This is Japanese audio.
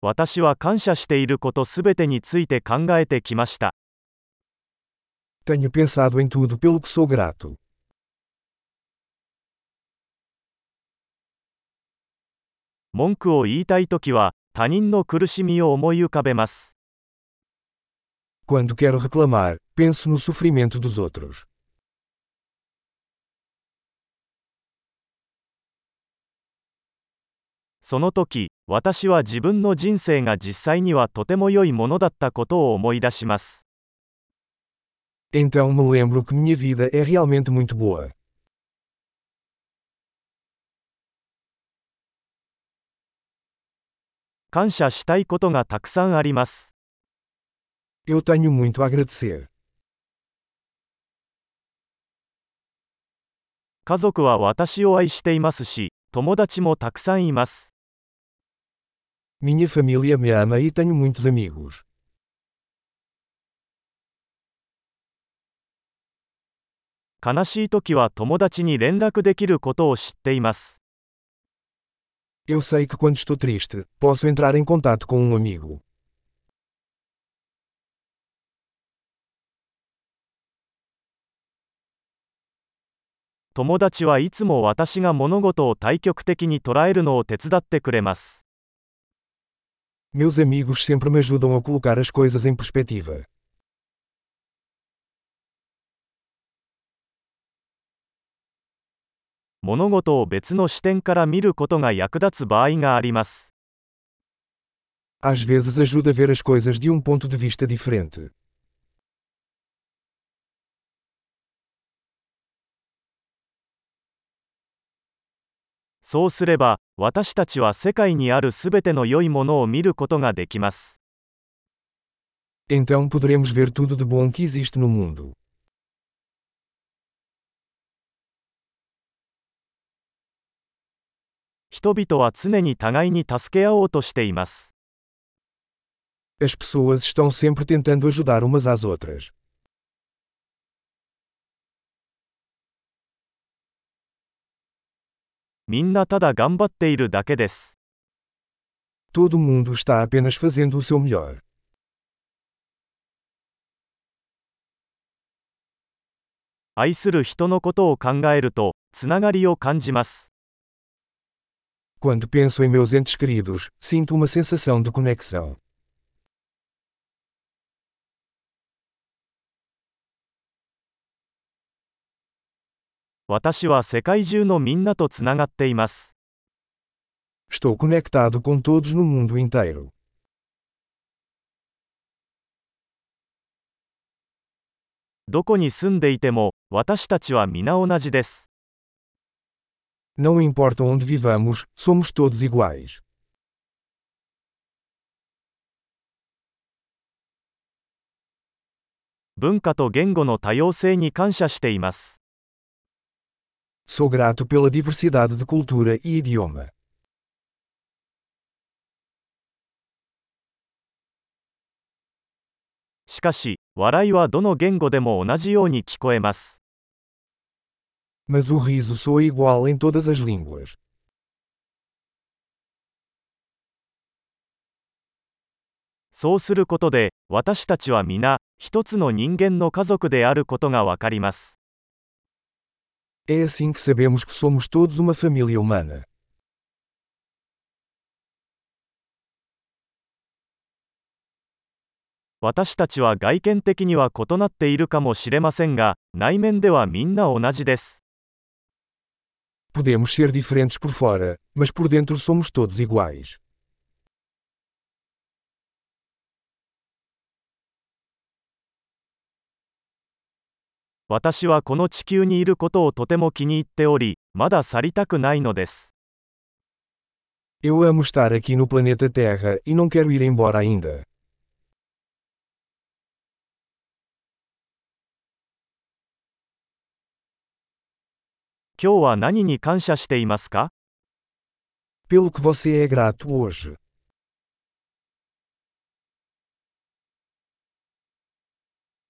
私は感謝していることすべてについて考えてきました。 Tenho pensado em tudo pelo que sou grato. 文句を言いたいときは、他人の苦しみを思い浮かべます。 Quando quero reclamar, penso no sofrimento dos outros. その時、私は自分の人生が実際にはとても良いものだったことを思い出します。 Então me lembro que minha vida é realmente muito boa. 感謝したいことがたくさんあります。 Eu tenho muito a agradecer. 家族は私を愛していますし、友達もたくさんいます。 Minha família me ama e tenho muitos amigos. 悲しいときは友達に連絡できることを知っています。 Eu sei que quando estou triste, posso entrar em contato com um amigo. 友達はいつも私が物事を対極的に捉えるのを手伝ってくれます。 Meus amigos sempre me ajudam a colocar as coisas em perspectiva. 物事を別の視点から見ることが役立つ場合があります。 Às vezes ajuda a ver as coisas de ponto de vista diferente. そうすれば、私たちは世界にあるすべての良いものを見ることができます。 Então poderemos ver tudo de bom que existe no mundo. 人々は常に互いに助け合おうとしています。 As pessoas estão sempre tentando ajudar umas às outras. みんなただ頑張っているだけです。 Todo mundo está apenas fazendo o seu melhor. 愛する人のことを考えると、つながりを感じます。 Quando penso em meus entes queridos, sinto uma sensação de conexão. 私は世界中のみんなとつながっています。 Estou conectado com todos no mundo inteiro. どこに住んでいても、私たちは皆同じです。 Não importa onde vivamos, somos todos iguais. 文化と言語の多様性に感謝しています。 Sou grato pela diversidade de cultura e idioma. しかし、笑いはどの言語でも同じように聞こえます。 Mas o riso soa igual em todas as línguas. そうすることで、私たちは皆、一つの人間の家族であることがわかります。 É assim que sabemos que somos todos uma família humana. 私たちは外見的には異なっているかもしれませんが、内面ではみんな同じです。 Podemos ser diferentes por fora, mas por dentro somos todos iguais. 私はこの地球にいることをとても気に入っており、まだ去りたくないのです。 Eu amo estar aqui no planeta Terra e não quero ir embora ainda. 今日は何に感謝していますか？ Pelo que você é grato hoje.